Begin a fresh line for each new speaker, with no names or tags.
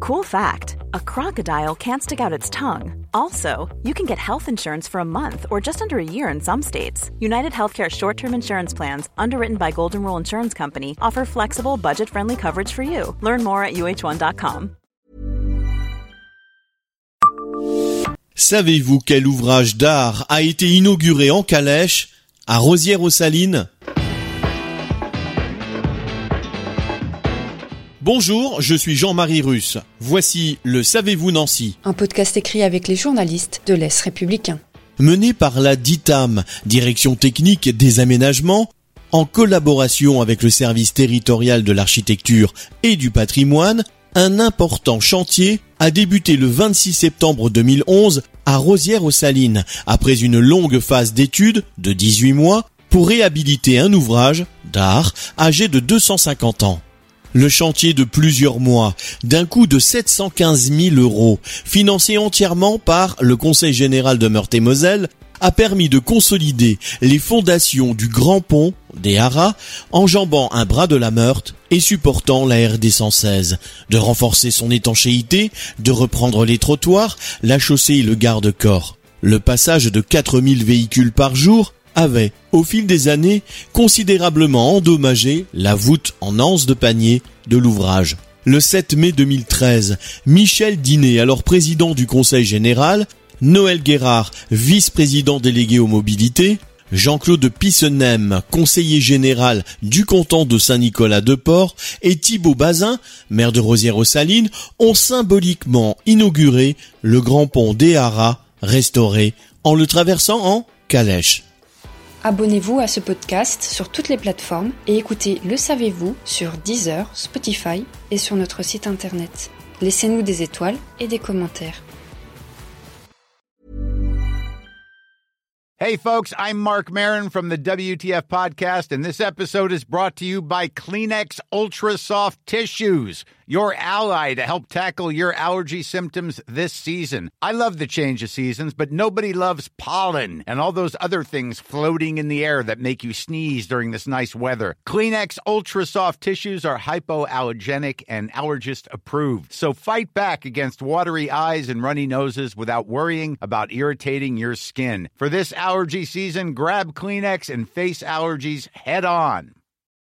Cool fact, a crocodile can't stick out its tongue. Also, you can get health insurance for a month or just under a year in some states. United Healthcare short-term insurance plans, underwritten by Golden Rule Insurance Company, offer flexible, budget-friendly coverage for you. Learn more at uh1.com.
Savez-vous quel ouvrage d'art a été inauguré en calèche à Rosières-aux-Salines ? Bonjour, je suis Jean-Marie Russe. Voici le Savez-vous Nancy ?
Un podcast écrit avec les journalistes de l'Est républicain.
Mené par la DITAM, Direction technique des aménagements, en collaboration avec le service territorial de l'architecture et du patrimoine, un important chantier a débuté le 26 septembre 2011 à Rosières-aux-Salines, après une longue phase d'études de 18 mois pour réhabiliter un ouvrage d'art âgé de 250 ans. Le chantier de plusieurs mois, d'un coût de 715 000 €, financé entièrement par le Conseil général de Meurthe-et-Moselle, a permis de consolider les fondations du grand pont des Haras, enjambant un bras de la Meurthe et supportant la RD 116, de renforcer son étanchéité, de reprendre les trottoirs, la chaussée et le garde-corps. Le passage de 4000 véhicules par jour avait, au fil des années, considérablement endommagé la voûte en anse de panier de l'ouvrage. Le 7 mai 2013, Michel Dinet, alors président du Conseil général, Noël Guérard, vice-président délégué aux mobilités, Jean-Claude Pissenem, conseiller général du canton de Saint-Nicolas-de-Port, et Thibaut Bazin, maire de Rosières-aux-Salines, ont symboliquement inauguré le grand pont des Haras, restauré, en le traversant en calèche.
Abonnez-vous à ce podcast sur toutes les plateformes et écoutez Le Savez-vous sur Deezer, Spotify et sur notre site internet. Laissez-nous des étoiles et des commentaires.
Hey folks, I'm Mark Maron from the WTF Podcast, and this episode is brought to you by Kleenex Ultra Soft Tissues, your ally to help tackle your allergy symptoms this season. I love the change of seasons, but nobody loves pollen and all those other things floating in the air that make you sneeze during this nice weather. Kleenex Ultra Soft Tissues are hypoallergenic and allergist approved, so fight back against watery eyes and runny noses without worrying about irritating your skin. For this allergy season, grab Kleenex and face allergies head on.